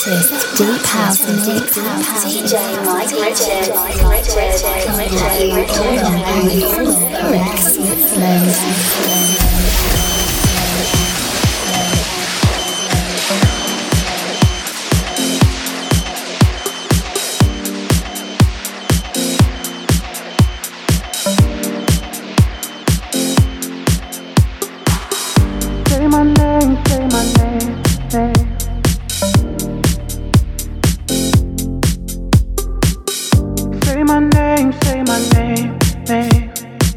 latest deep house mix. DJ Mike Richard. Say my name, say my name, say. Say my name, say my name, name.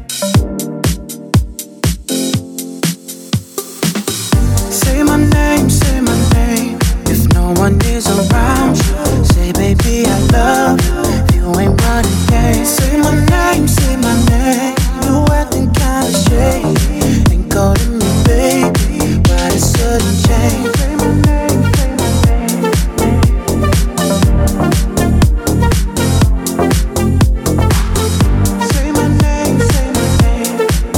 Say my name, say my name. If no one is around you, say baby I love you. If you ain't running game, say my name, say my name. You acting kinda shady, ain't calling me baby, but it shouldn't change. Say my name, say my name, say my name, say my name.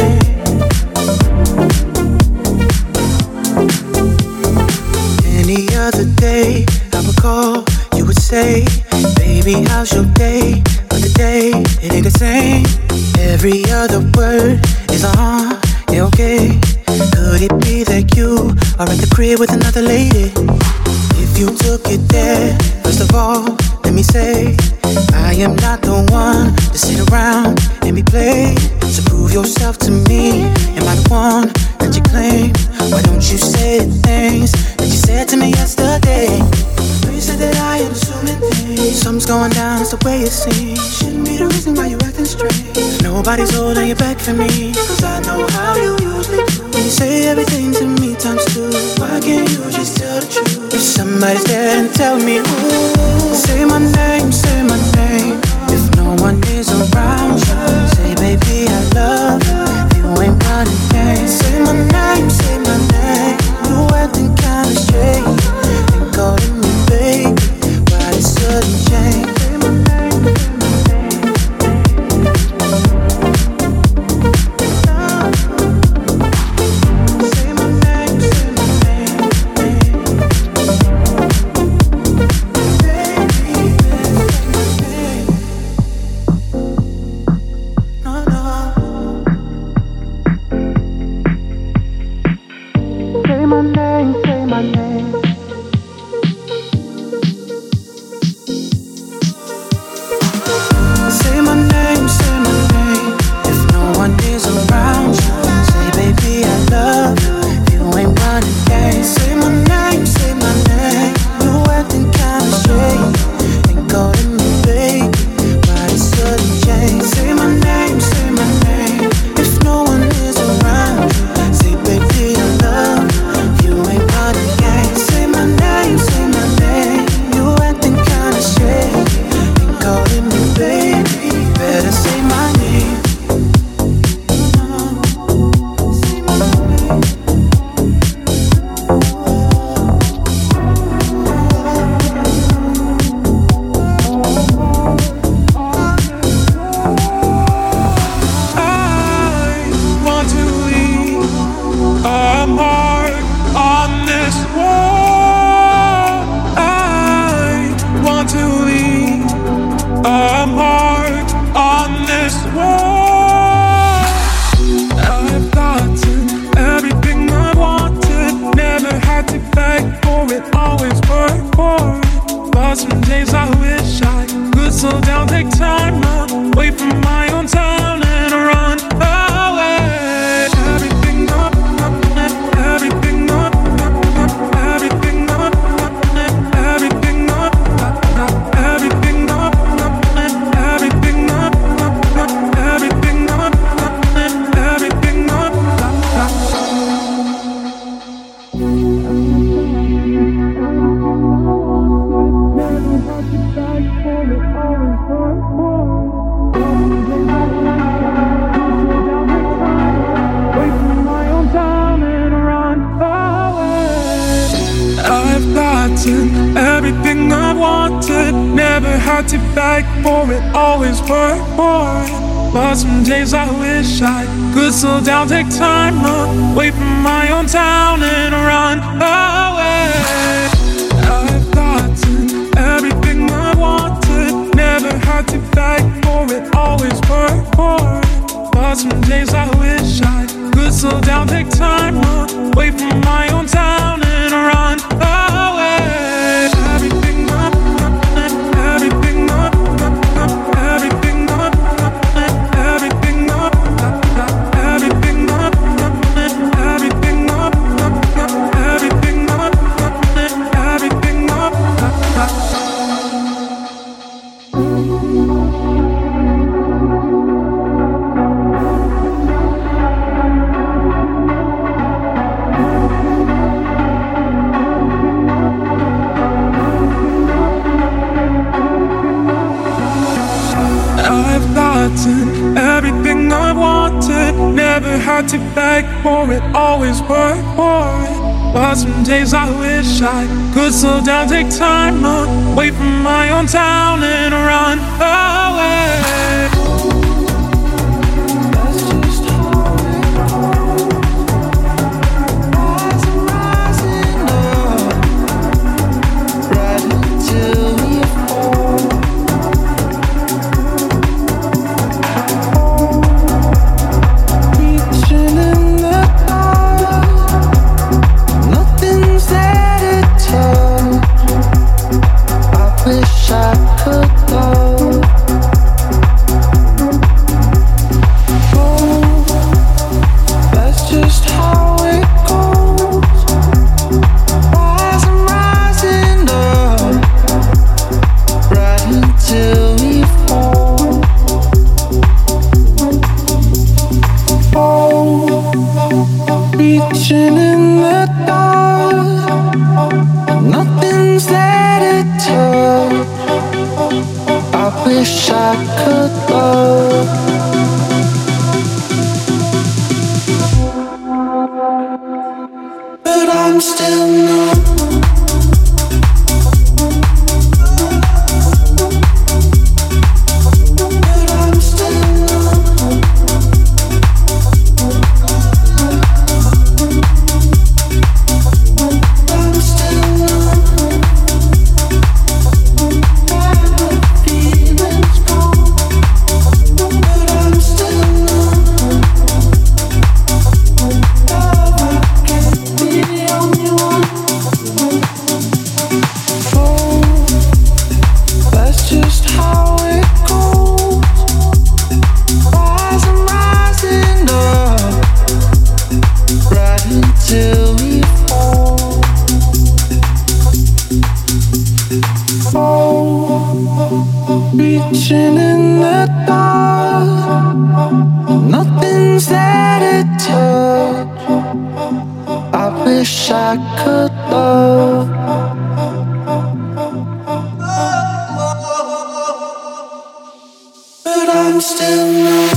Any other day I would call, you would say, baby, how's your day? But today, it ain't the same. Every other word is yeah, okay. Could it be that you are at the crib with another lady? If you took it there, first of all, let me say, I am not the one to sit around and be played. So prove yourself to me. Am I the one that you claim? Why don't you say the things that you said to me yesterday? You said that I am assuming things. Something's going down, it's the way it seems. Shouldn't be the reason why you acting strange. Nobody's holding your back for me, cause I know how you usually do. When you say everything to me times two, why can't you just tell the truth? If somebody's there, then tell me who. Say my name, say my name. If no one is around you, say baby I love you. If you ain't running game, say my name, say my name. You acting kinda shady, ain't calling me baby, why it shouldn't change. Say my name, say my name. Say my name, say my name. No, no. Say my name, say my name. Say my name, say my name. If no one is around you, say baby I love you. If you ain't running game, say my name, say my name. You acting kinda shady, ain't calling me baby, but it shouldn't change. Say my name, say my name. If no one is around you, say baby I love you. If you ain't running game, say my name, say my name. You acting kinda shady, ain't calling me baby, better say my name. Say my name. I want to leave a mark on this wall. I want to leave a mark on this wall. I've gotten everything I wanted, never had to beg for it, always worked for it. But some days I wish I could slow down, take time away from my own town and run away. Everything up, everything up, everything up, everything up, everything up, everything up, everything up, everything up. I've gotten everything I wanted, never had to beg for it, always worked for it. But some days I wish I could slow down, take time away from my own town and run away. I've got to some days I wish I could slow down, take time away from my own town and run away. Everything up, everything up, everything up, everything up, everything up, everything up, everything up, everything up. I've gotten everything I wanted, never had to beg for it, always work for it. But some days I wish I could slow down, take time away from my own town and run away. Reaching in the dark, nothing's there to touch. I wish I could love, but I'm still not.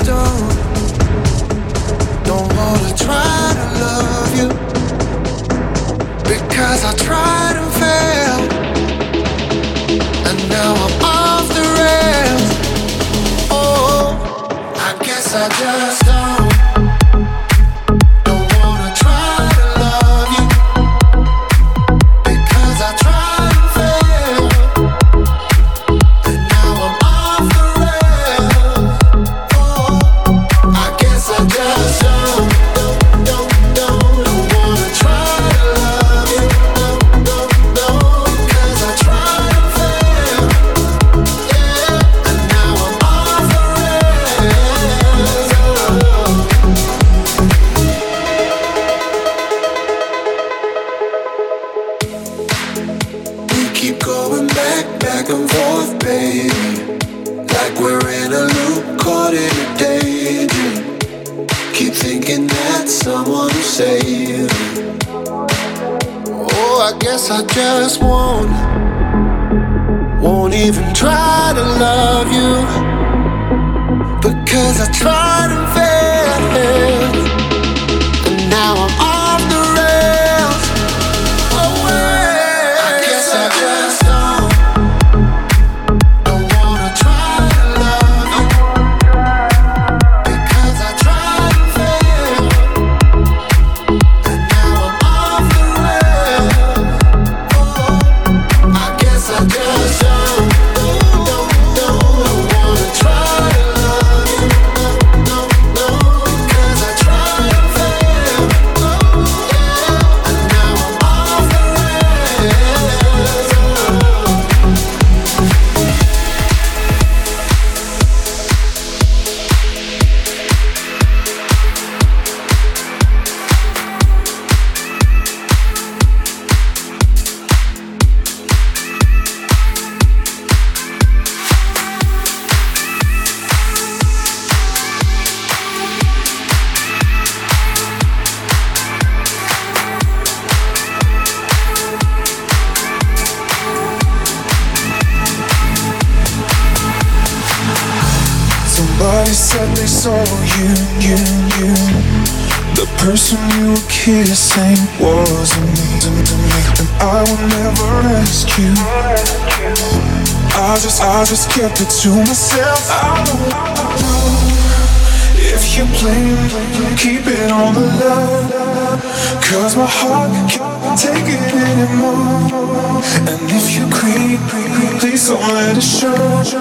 don't wanna try to love you, because I tried and failed, and now I'm off the rails. Oh, I guess I just don't wanna try to love you, because I tried and failed, and now I'm off the rails. Oh, I guess I just don't wanna try to love you, because I tried and failed, yeah, and now I'm off the rails. We keep going back and forth, baby, like we're in a loop, caught in a daydream. Keep thinking that someone will save me. Oh, I guess I just won't even try to love you, because I tried and failed, and now I'm off the rails. Oh, I guess I just don't wanna try to love you, because I tried and failed, and now I'm off the rails. Oh, I guess I just don't wanna try to love you, because I tried and failed, yeah, and now I'm off the rails. Somebody said they saw you. The person you were kissing wasn't me. And I will never ask you. I just kept it to myself. I don't know if you blame, keep it on the low, 'cause my heart can't take it anymore. And if you creep, please don't let it show.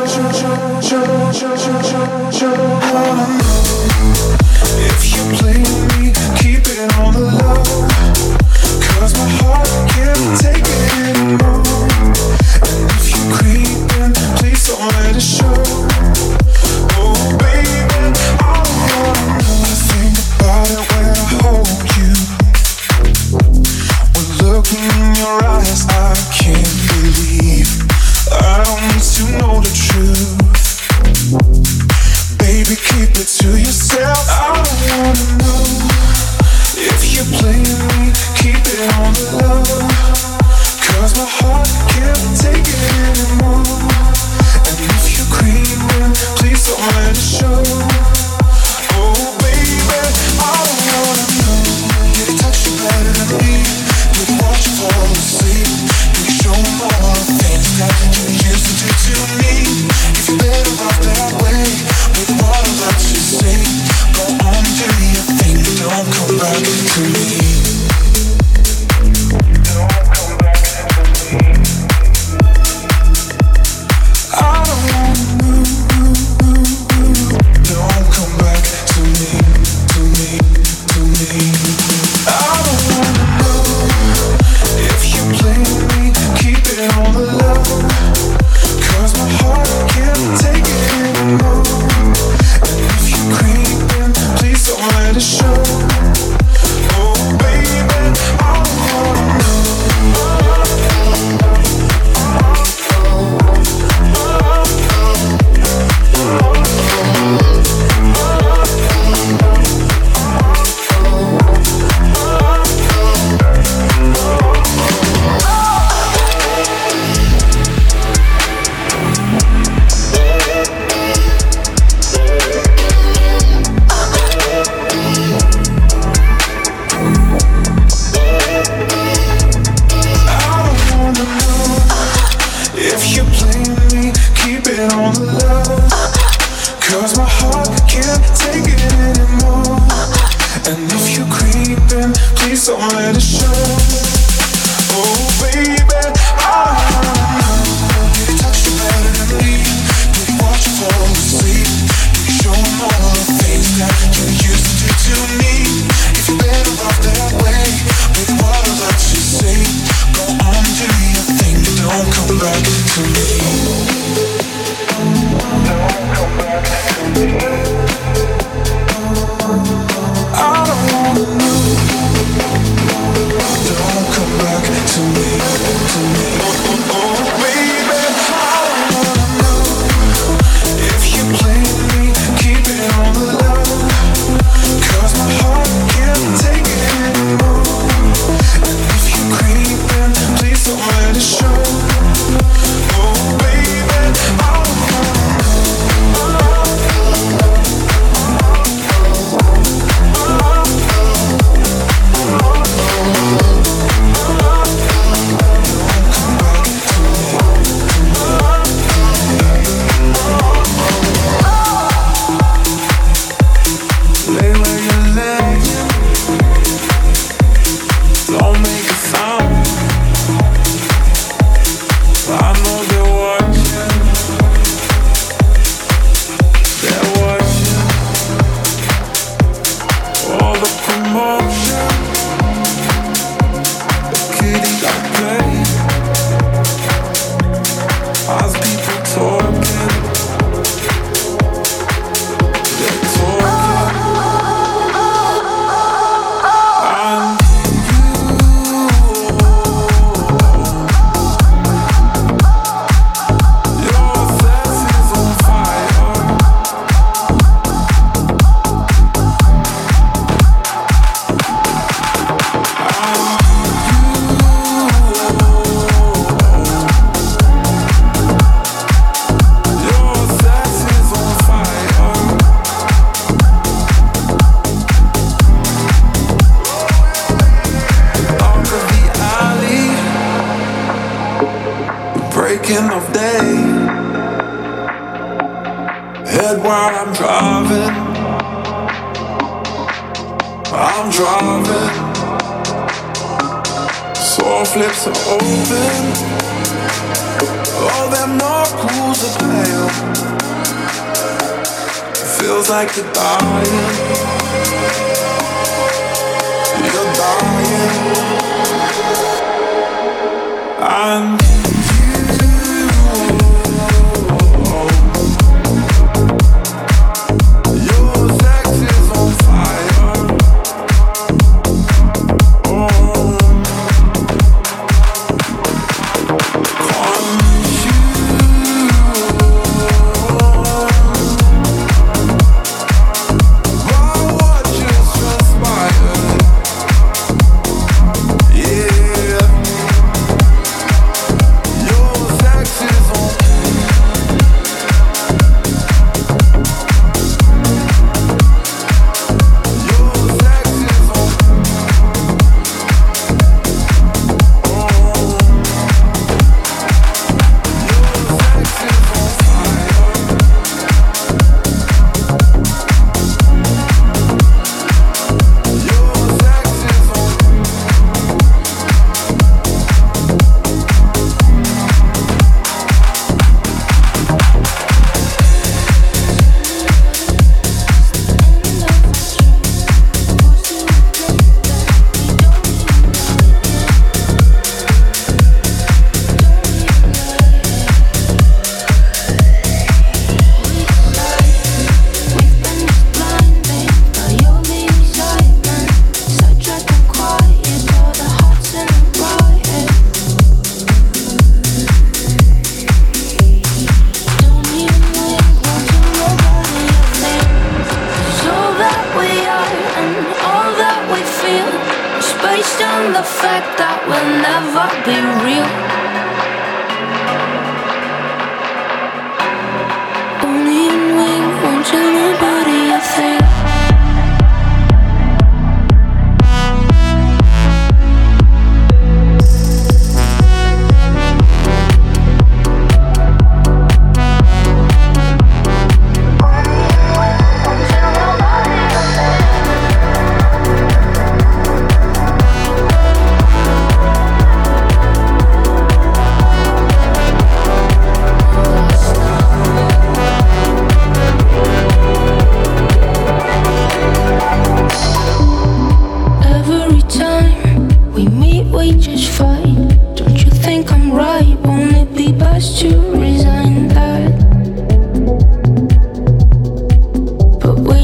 I wanna know if you blame me, keep it on the low, 'cause my heart can't take it anymore. And if you creep, please don't let it show. Oh baby, I wanna know. Think about it when I hold you. When looking in your eyes, I can't believe. I don't need to know the truth. Baby, keep it to yourself. I don't wanna know if you blame me, keep it on the low, 'cause my heart can't take it anymore. And if you're creeping, please don't let it show. Oh baby, I don't wanna know. Can you touch you better than me? Can you watch you fall asleep? Can you show me all the things that you used to do to me? If you're better off that way, with what I'm about to say, go on and do your thing, but don't come back to me. Don't come back to me. I don't wanna know. Don't come back to me, to me, to me. I don't wanna know if you blame me, keep it on the low, 'cause my heart can't take it anymore. And if you creeping, please don't let it show. Oh baby, I don't wanna know. something let it show. Oh baby, I wanna know. Did he touch you better than me? Did he watch you fall asleep? Did he show him all the things that you used to do to me? If you're better off that way, with what I let you say, go on, do your thing, don't come back to me. Don't come back to me. I don't wanna know. Don't come back to me, to me. Oh, baby, I don't wanna know. If you play with me, keep it on the low. 'Cause my heart can't take it anymore. And if you creep in, please don't let it show. Oh, baby, I don't wanna know.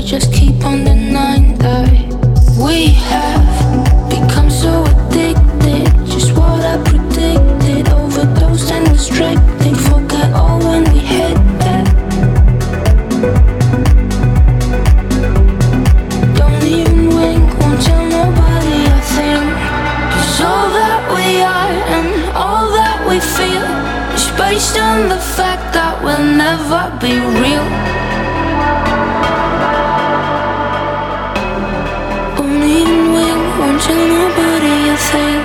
just keep on denying that we have become so addicted. Just what I predicted, overdosed and restricted. Forget all when we hit that. Don't even wink, won't tell nobody a thing. 'Cause all that we are and all that we feel is based on the fact that we'll never be real. Won't even wink, won't tell nobody a thing.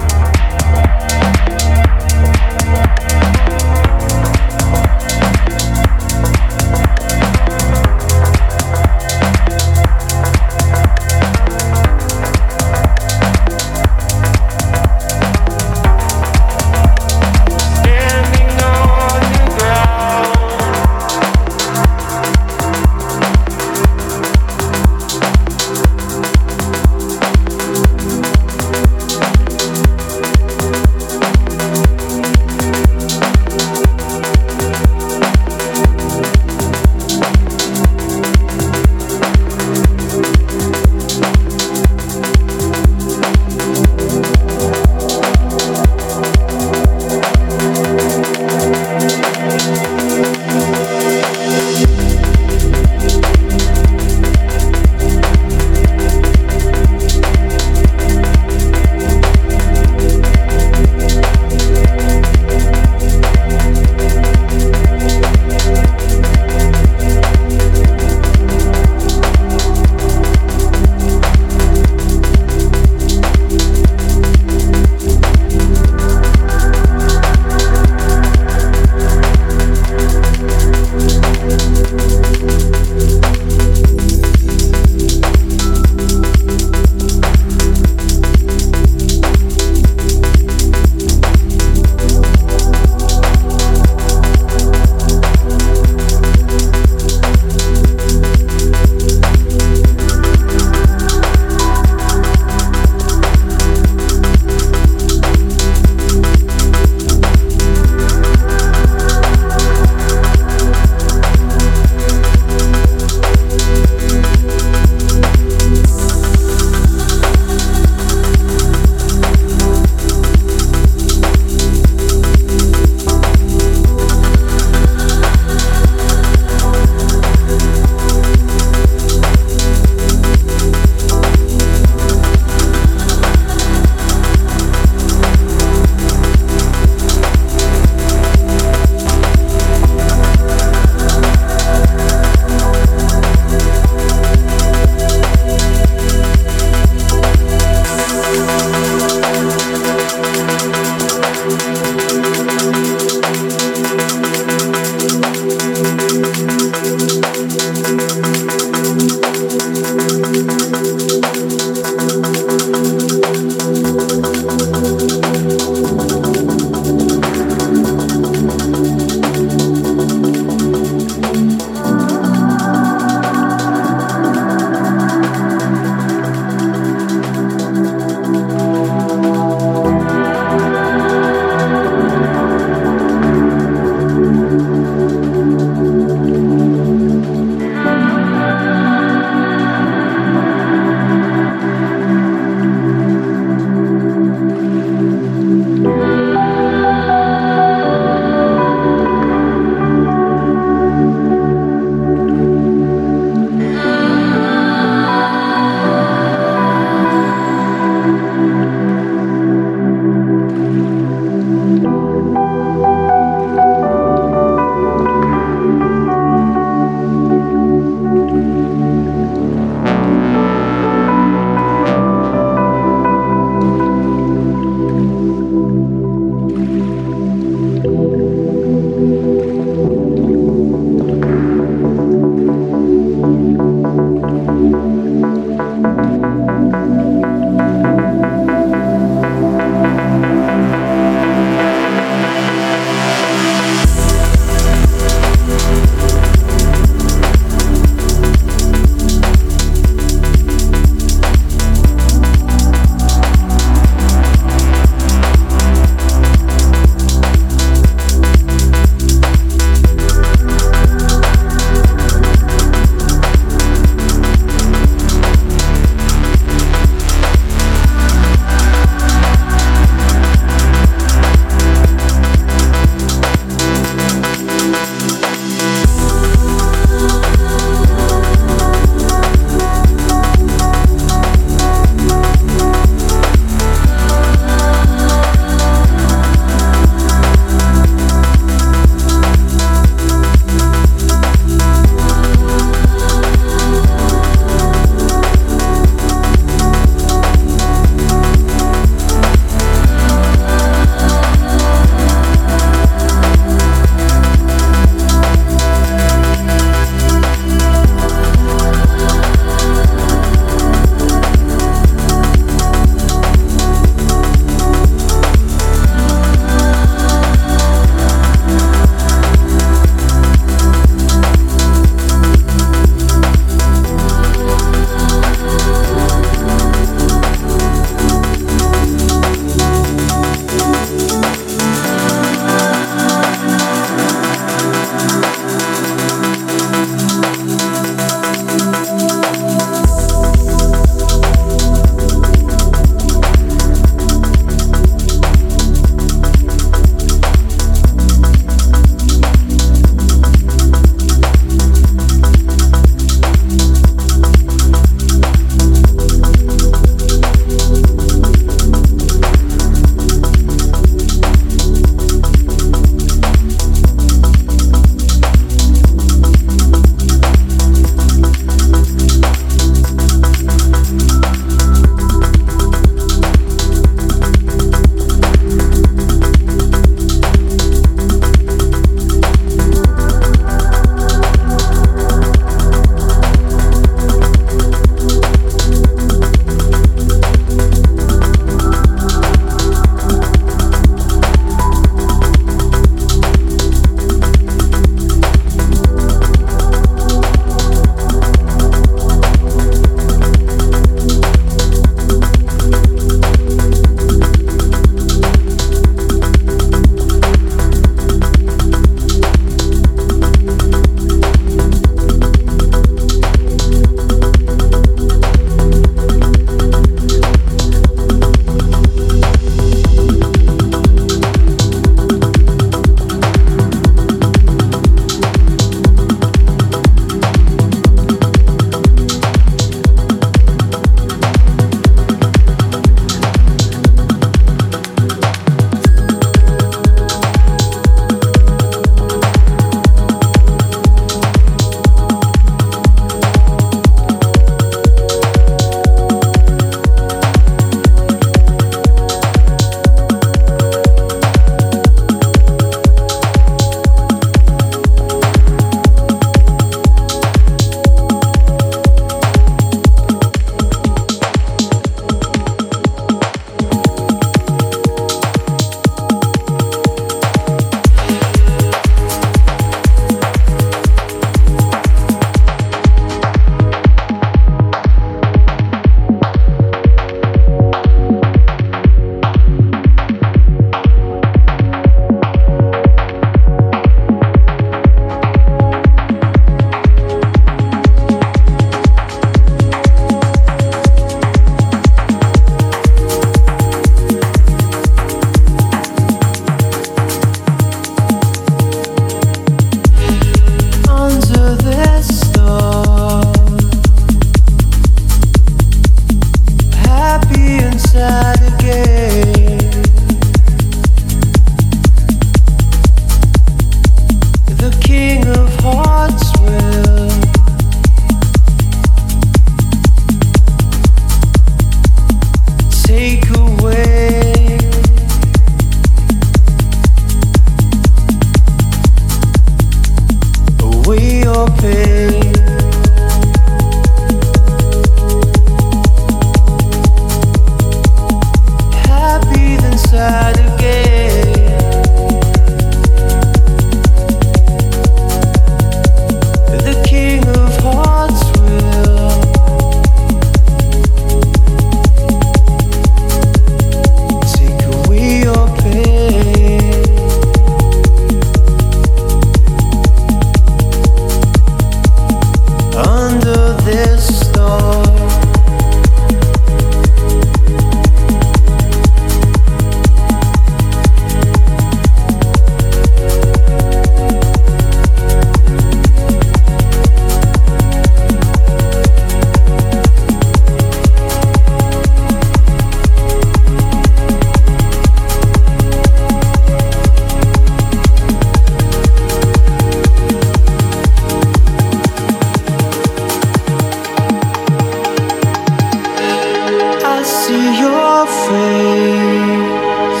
see your face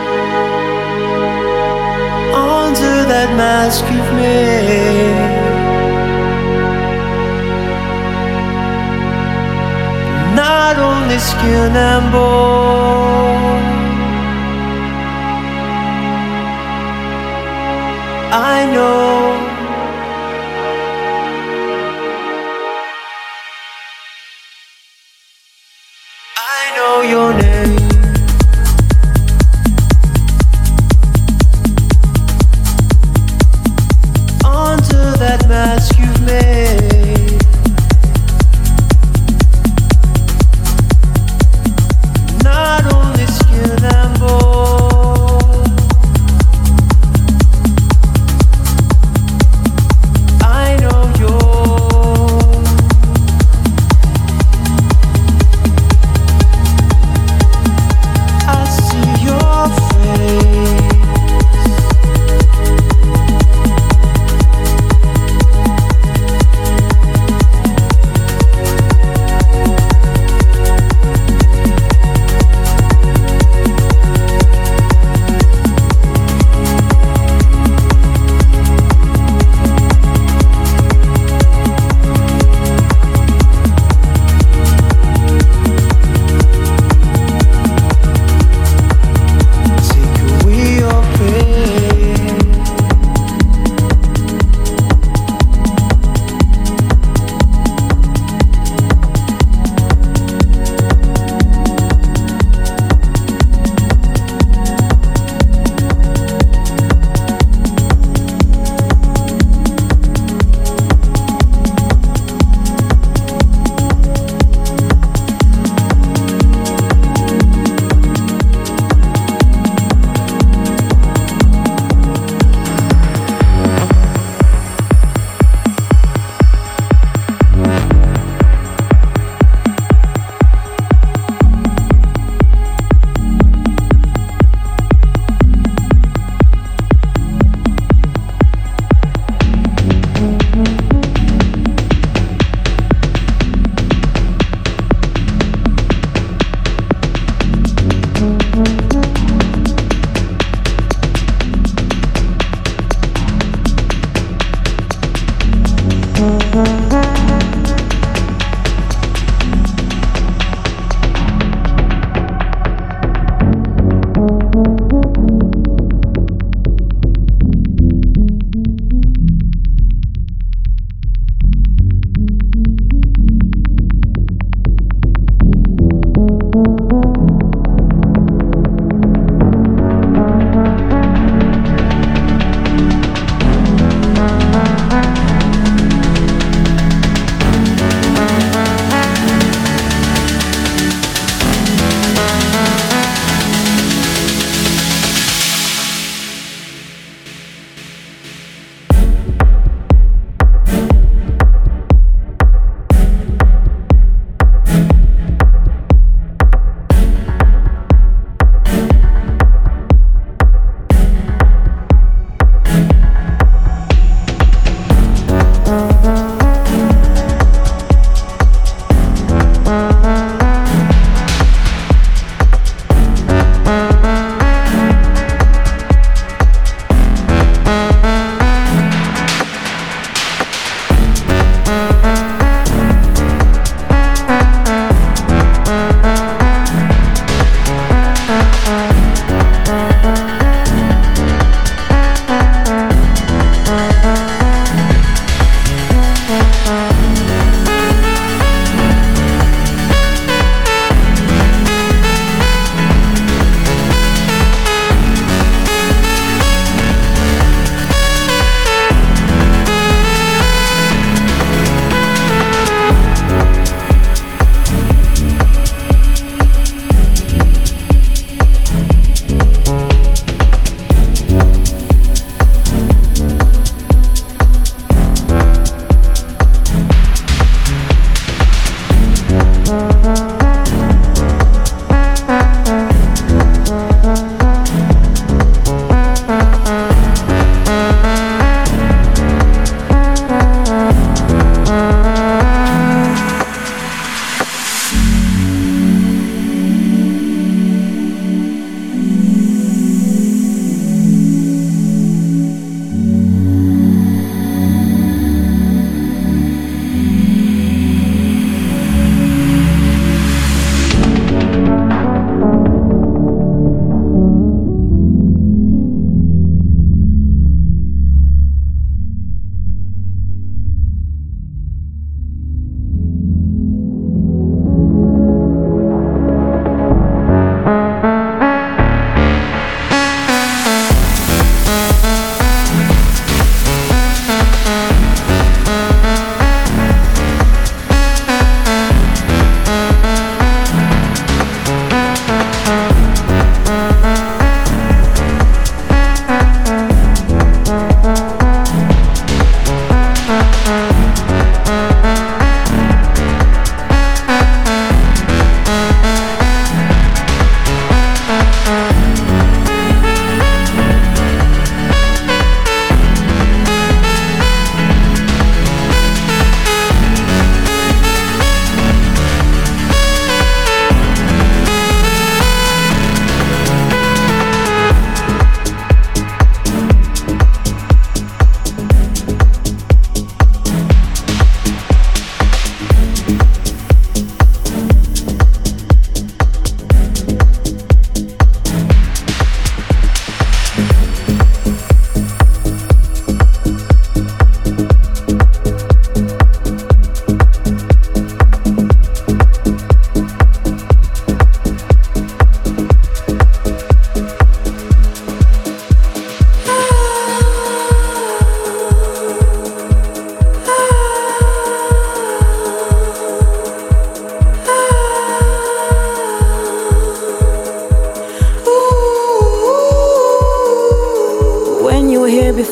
under that mask you've made. Not only skin and bone, I know. I know your name. Under that mask you've made, not only skin and bone, I know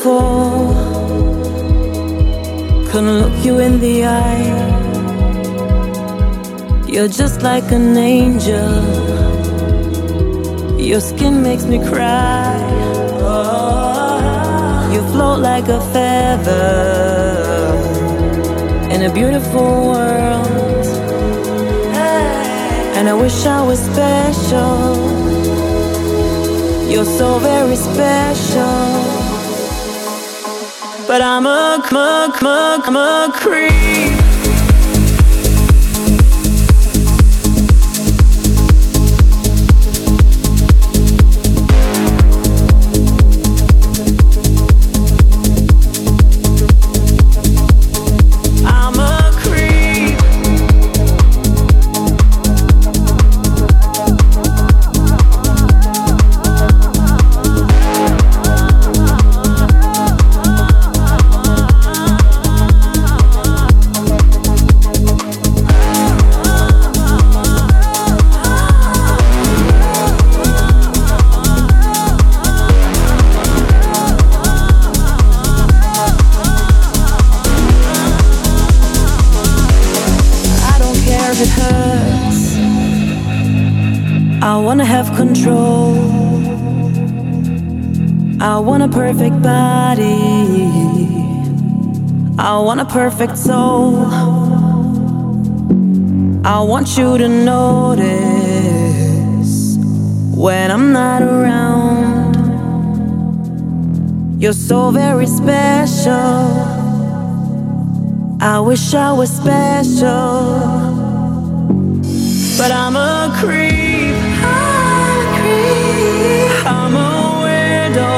before. Couldn't look you in the eye. You're just like an angel. Your skin makes me cry. You float like a feather in a beautiful world. And I wish I was special. You're so very special. But I'm a creep. I wanna have control. I want a perfect body. I want a perfect soul. I want you to notice when I'm not around. You're so very special. I wish I was special. But I'm a creep. I'm a weirdo.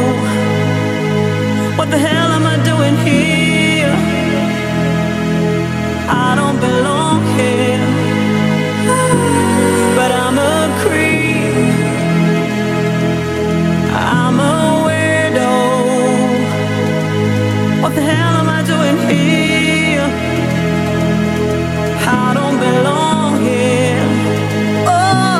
What the hell am I doing here? I don't belong here. But I'm a creep. I'm a weirdo. What the hell am I doing here? I don't belong here. Oh.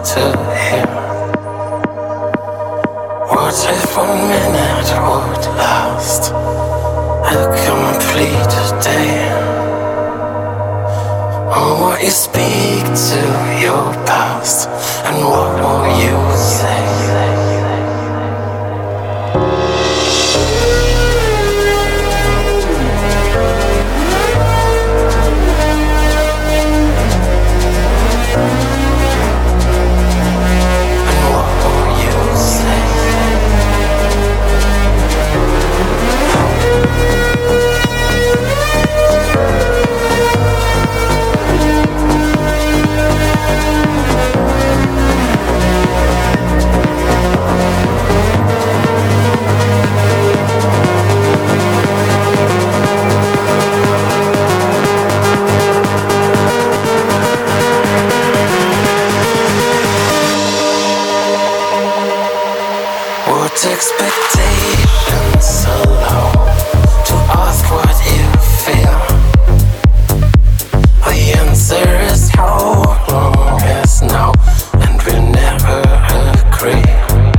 to hear. What if 1 minute would last a complete day? Or what you speak to your past, and what will you say? Expectations so low to ask what you feel. The answer is how long is now, and we never agree.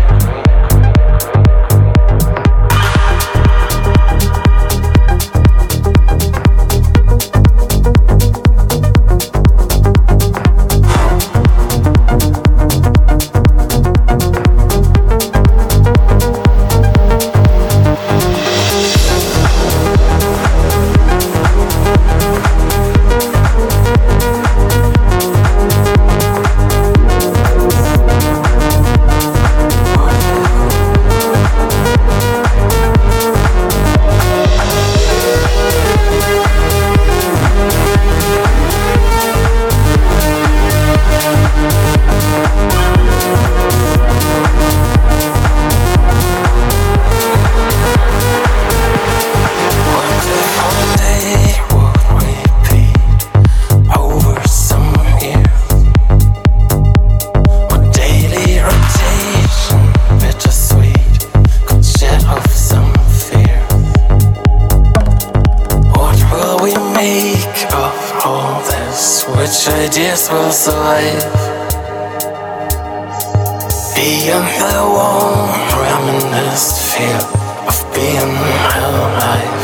Ideas will survive beyond the warm, reminisced feel of being alive.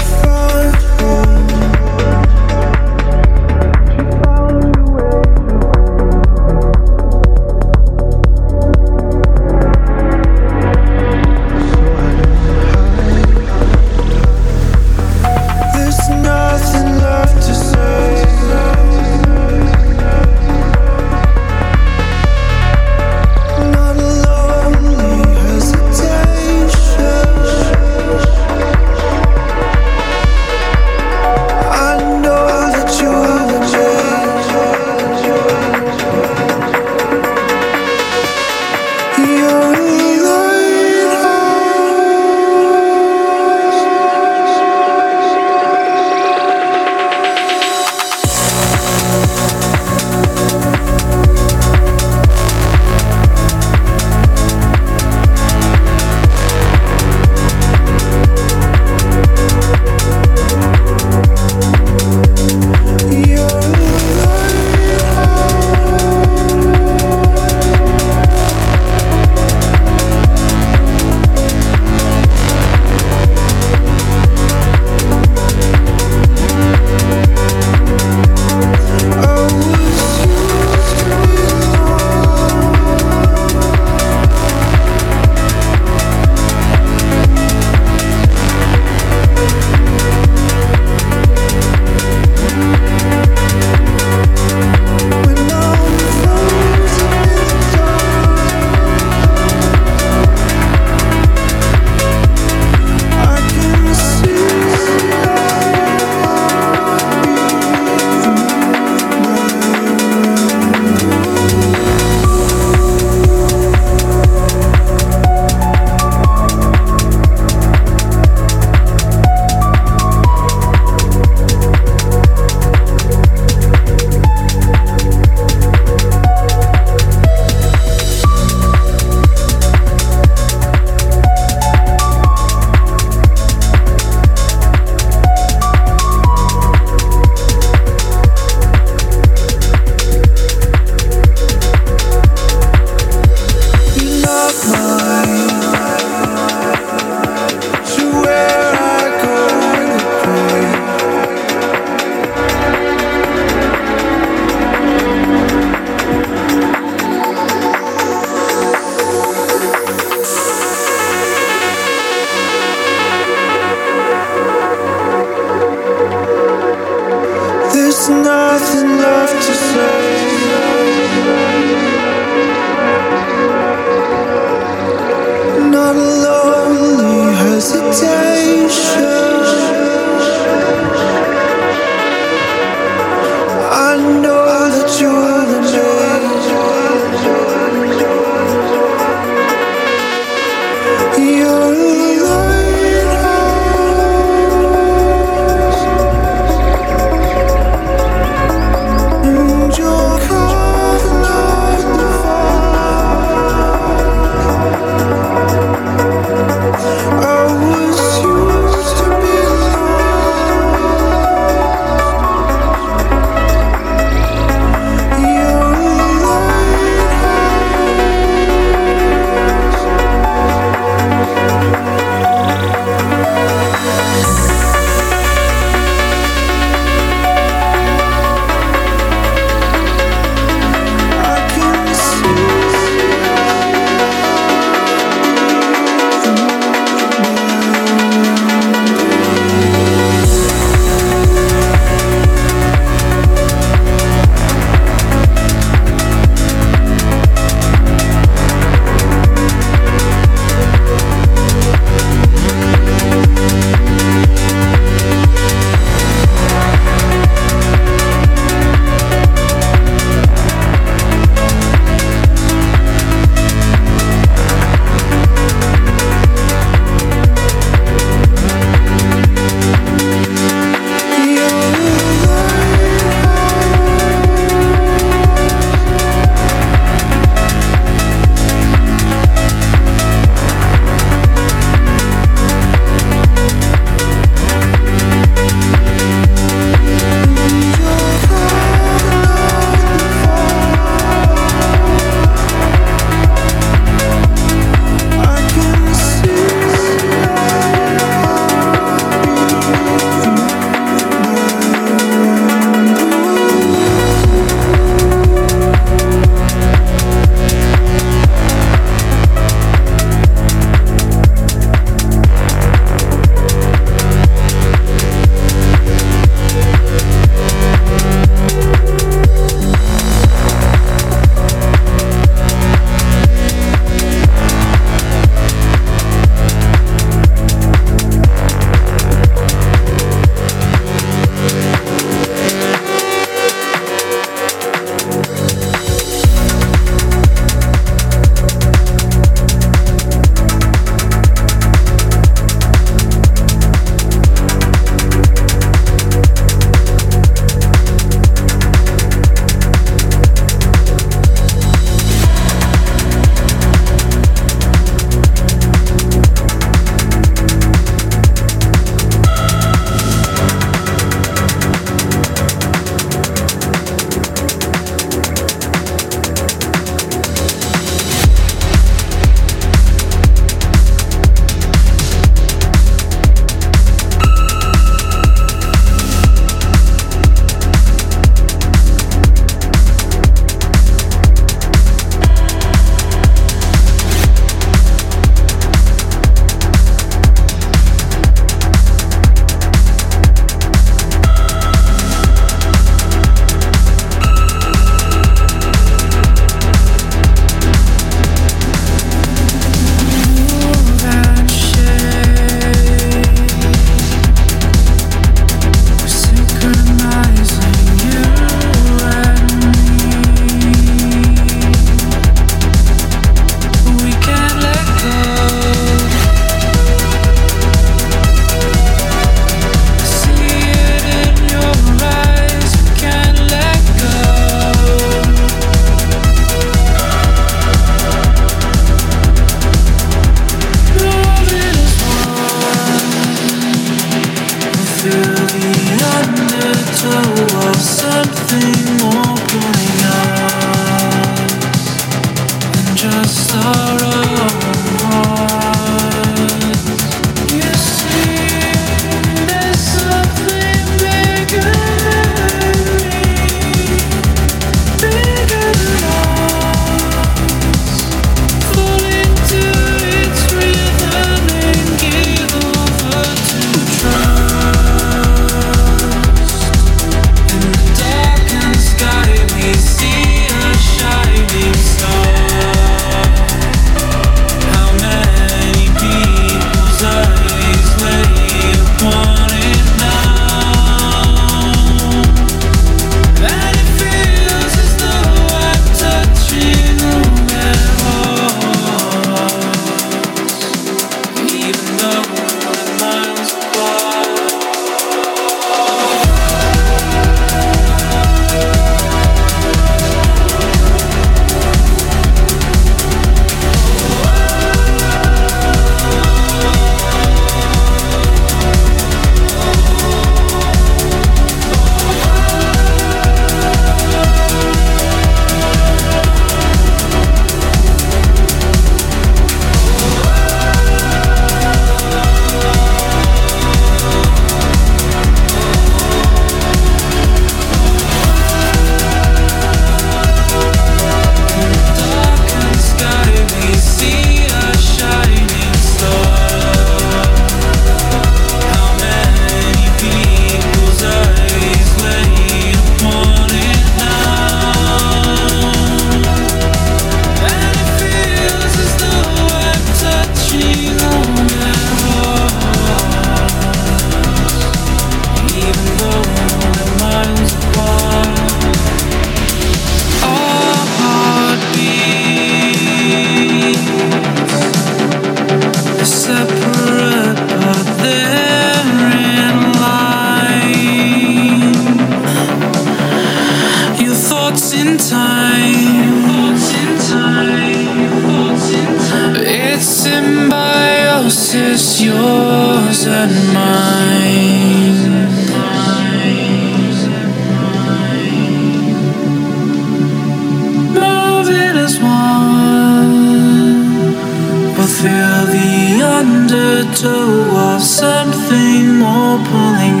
undertow of something more pulling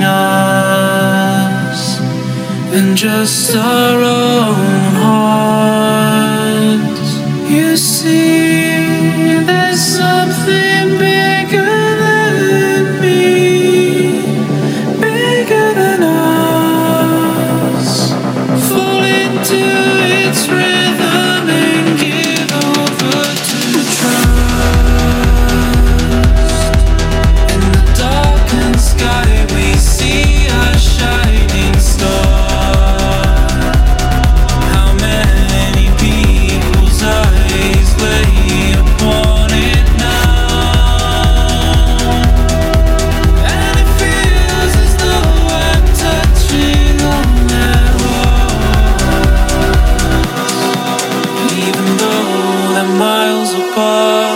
us than just our own hearts. You see, there's something bigger than me, bigger than us. Fall into its rhythm and give over to trust. In the darkened sky we see a shining star. How many people's eyes lay upon it now? And it feels as though I'm touching on their hearts, even though they're miles apart.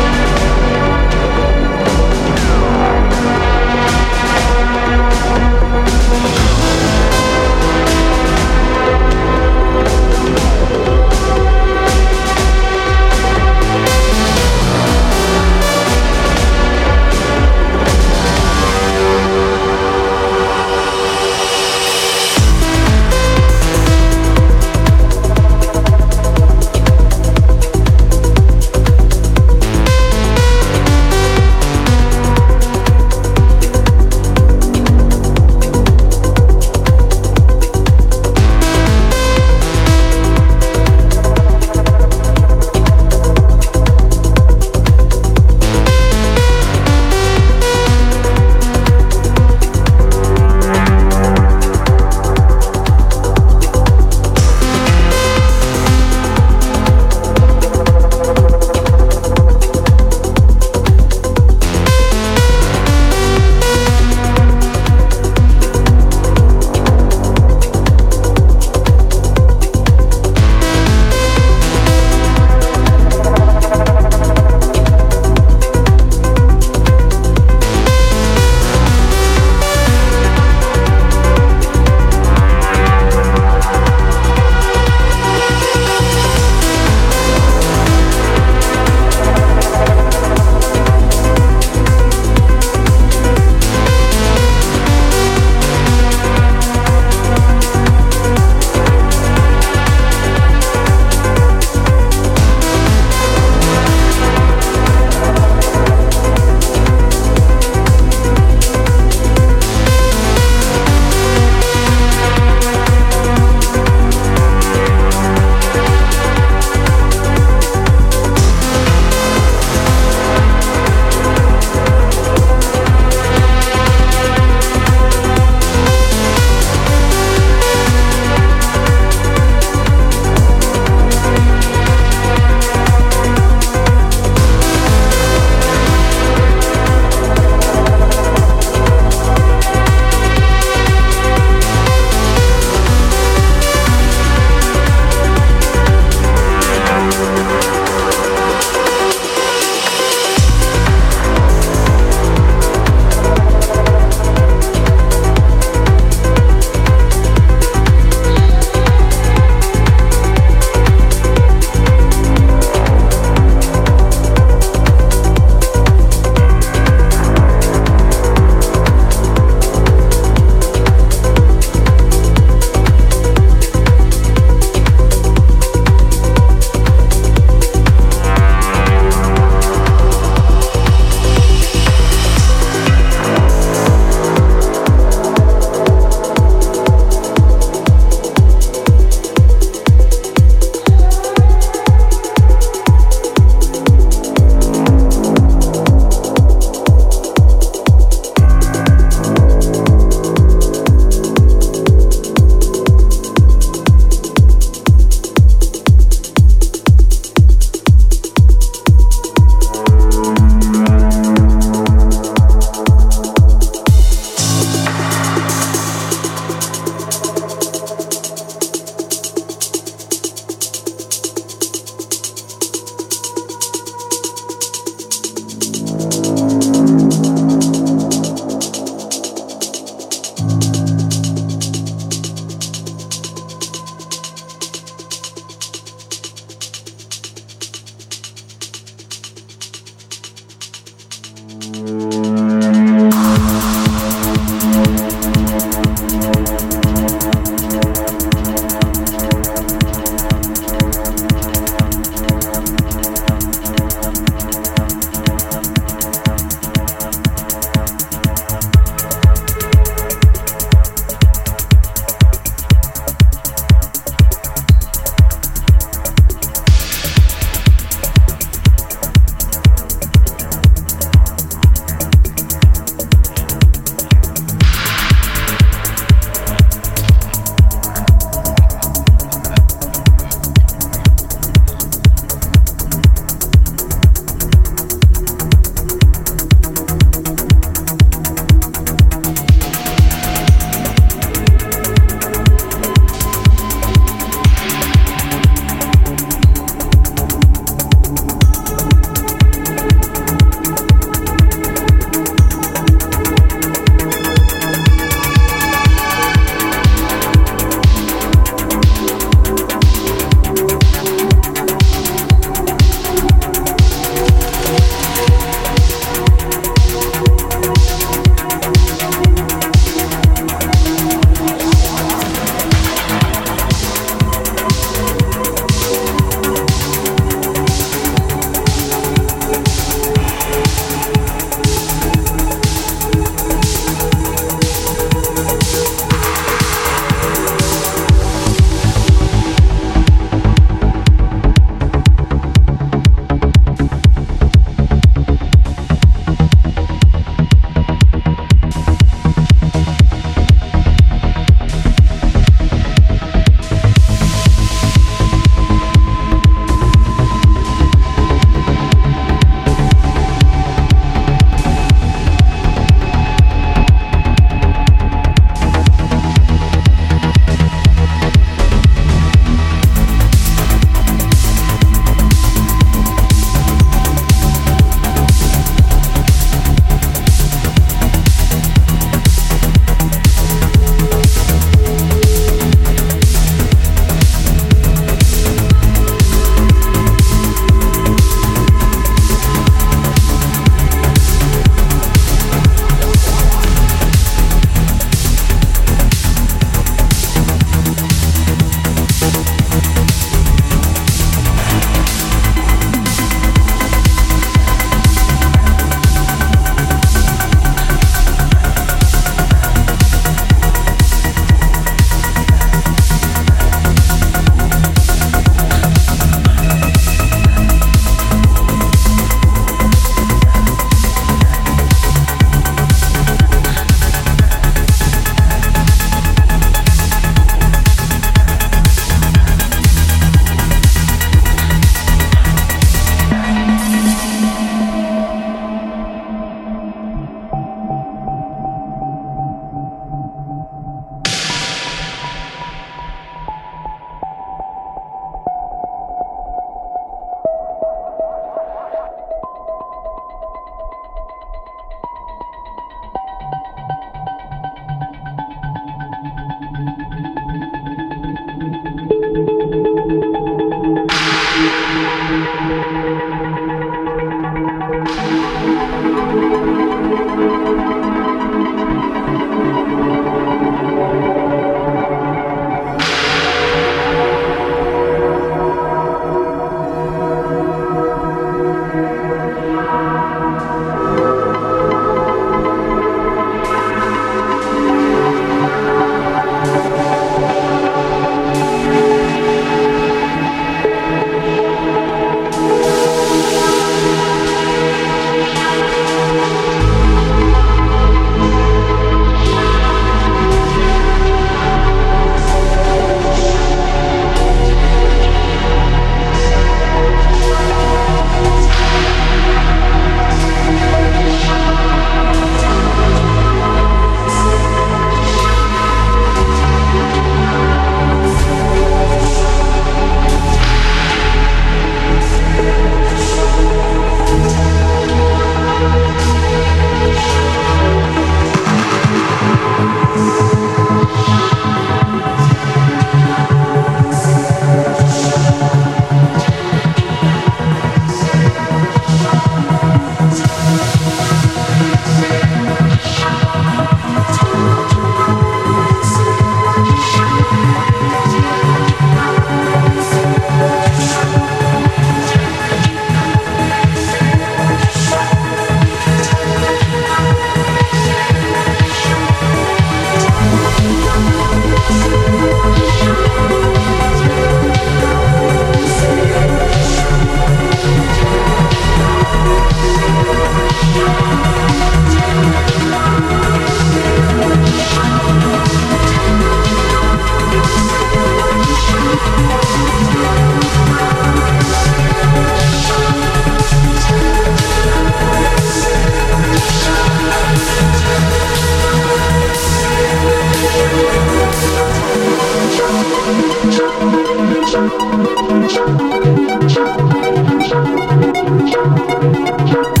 Thank you.